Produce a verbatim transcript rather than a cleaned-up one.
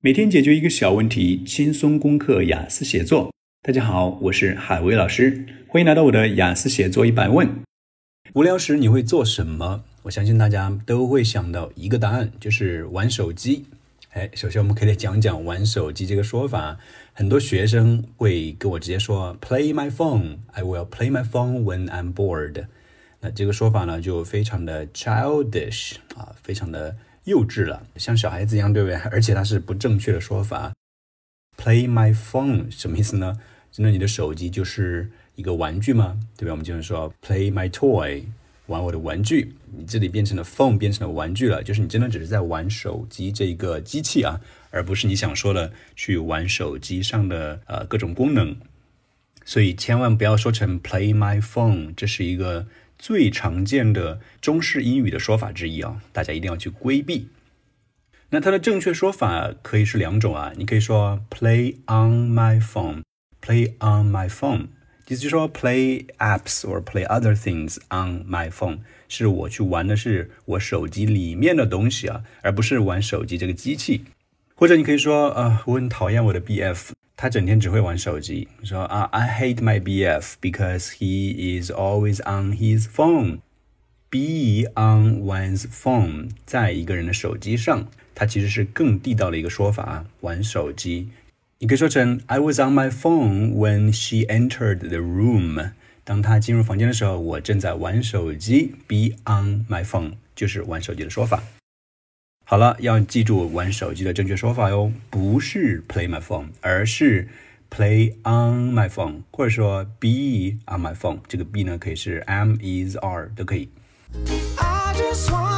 每天解决一个小问题，轻松攻克雅思写作。大家好，我是海威老师，欢迎来到我的雅思写作一百问。无聊时你会做什么？我相信大家都会想到一个答案，就是玩手机。哎，首先我们可以讲讲玩手机这个说法。很多学生会跟我直接说 Play my phone, I will play my phone when I'm bored。 那这个说法呢就非常的 childish 啊，非常的幼稚了，像小孩子一样，对不对？而且它是不正确的说法。 Play my phone 什么意思呢？真的你的手机就是一个玩具吗？对吧？我们经常说 Play my toy， 玩我的玩具，你这里变成了 phone， 变成了玩具了，就是你真的只是在玩手机这个机器啊，而不是你想说的去玩手机上的呃各种功能。所以千万不要说成 Play my phone， 这是一个最常见的中式英语的说法之一啊，大家一定要去规避。那它的正确说法可以是两种啊，你可以说 Play on my phone， Play on my phone， 意思就是说 Play apps or play other things on my phone， 是我去玩的是我手机里面的东西啊，而不是玩手机这个机器。或者你可以说呃，我很讨厌我的 B F， 他整天只会玩手机。说啊 I hate my B F because he is always on his phone。 Be on one's phone， 在一个人的手机上，它其实是更地道的一个说法，玩手机。你可以说成 I was on my phone when she entered the room。 当她进入房间的时候，我正在玩手机。 Be on my phone 就是玩手机的说法。好了，要记住玩手机的正确说法哟，不是 play my phone， 而是 play on my phone， 或者说 be on my phone。 这个 be 呢可以是 am, is, are 都可以。I just want